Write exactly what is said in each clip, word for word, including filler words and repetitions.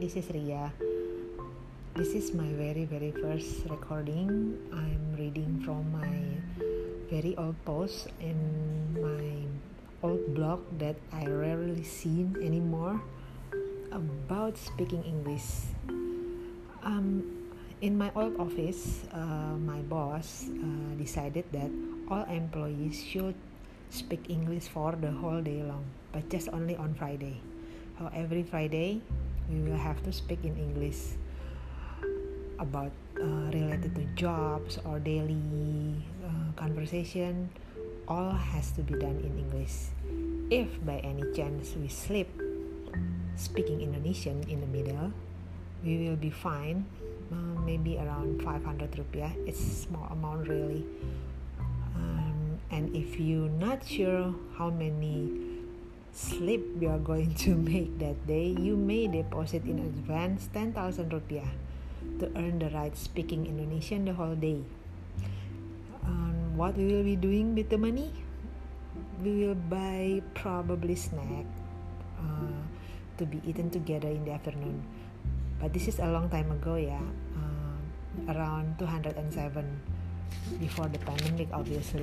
this is Ria. This is my very very first recording. I'm reading from my very old post in my old blog that I rarely seen anymore about speaking English. Um, in my old office, uh, my boss uh, decided that all employees should speak English for the whole day long, but just only on Friday. So every Friday, we will have to speak in English about uh, related to jobs or daily uh, conversation. All has to be done in English. If by any chance we slip speaking Indonesian in the middle, we will be fined uh, maybe around five hundred rupiah. It's a small amount really. Um, and if you're not sure how many slip you are going to make that day, you may deposit in advance ten thousand rupiah to earn the right speaking Indonesian the whole day. Um, what we will be doing with the money? We will buy probably snack uh, to be eaten together in the afternoon. But this is a long time ago, yeah, uh, around two thousand seven, before the pandemic, obviously.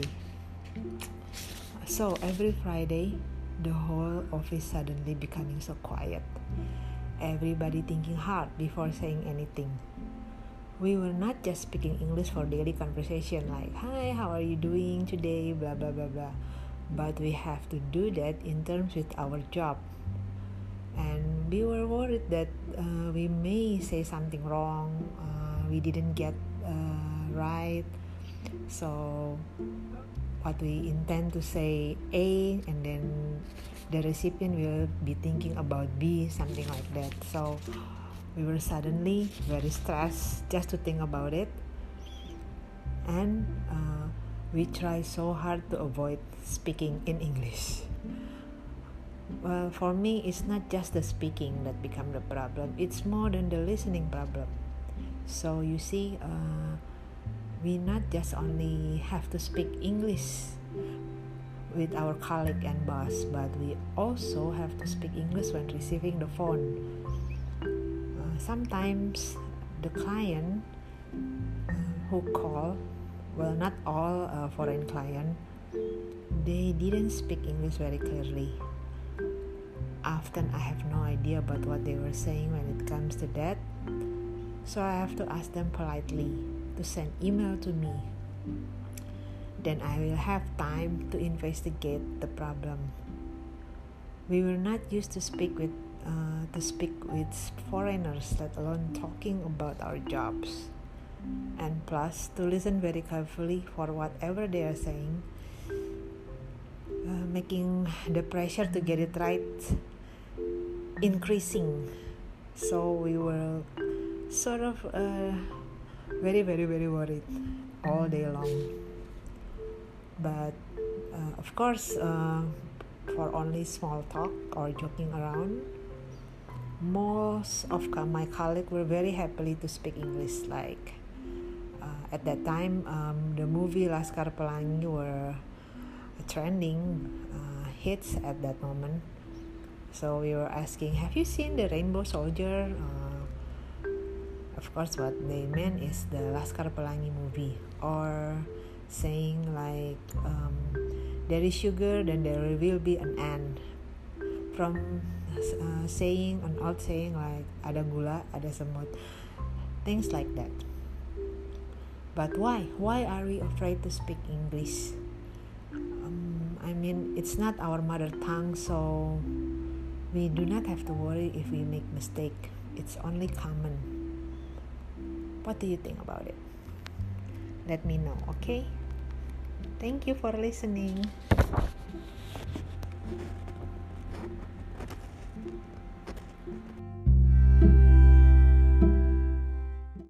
So every Friday, the whole office suddenly becoming so quiet. Everybody thinking hard before saying anything. We were not just speaking English for daily conversation like, hi, how are you doing today, blah, blah, blah, blah. But we have to do that in terms with our job. And we were worried that uh, we may say something wrong, uh, we didn't get uh, right. So what we intend to say A, and then the recipient will be thinking about B, something like that. So we were suddenly very stressed just to think about it, and uh, we try so hard to avoid speaking in English. Well, for me, it's not just the speaking that become the problem. It's more than the listening problem. So you see, uh, we not just only have to speak English with our colleague and boss, but we also have to speak English when receiving the phone. Uh, sometimes the client uh, who call, well, not all uh, foreign client, they didn't speak English very clearly. Often I have no idea about what they were saying when it comes to that, so I have to ask them politely to send email to me. Then I will have time to investigate the problem. We were not used to speak with uh, to speak with foreigners, let alone talking about our jobs, and plus to listen very carefully for whatever they are saying, uh, making the pressure to get it right increasing. So we were sort of uh, very very very worried all day long. But uh, of course, uh, for only small talk or joking around, most of my colleagues were very happily to speak English. Like uh, at that time, um, the movie Laskar Pelangi were trending uh, hits at that moment. So we were asking, have you seen the Rainbow Soldier? Uh, of course, what they meant is the Laskar Pelangi movie. Or saying like, um, there is sugar, then there will be an ant. From uh, saying an old saying like, ada gula, ada semut. Things like that. But why? Why are we afraid to speak English? Um, I mean, it's not our mother tongue, so we do not have to worry if we make mistake. It's only common. What do you think about it? Let me know, okay? Thank you for listening.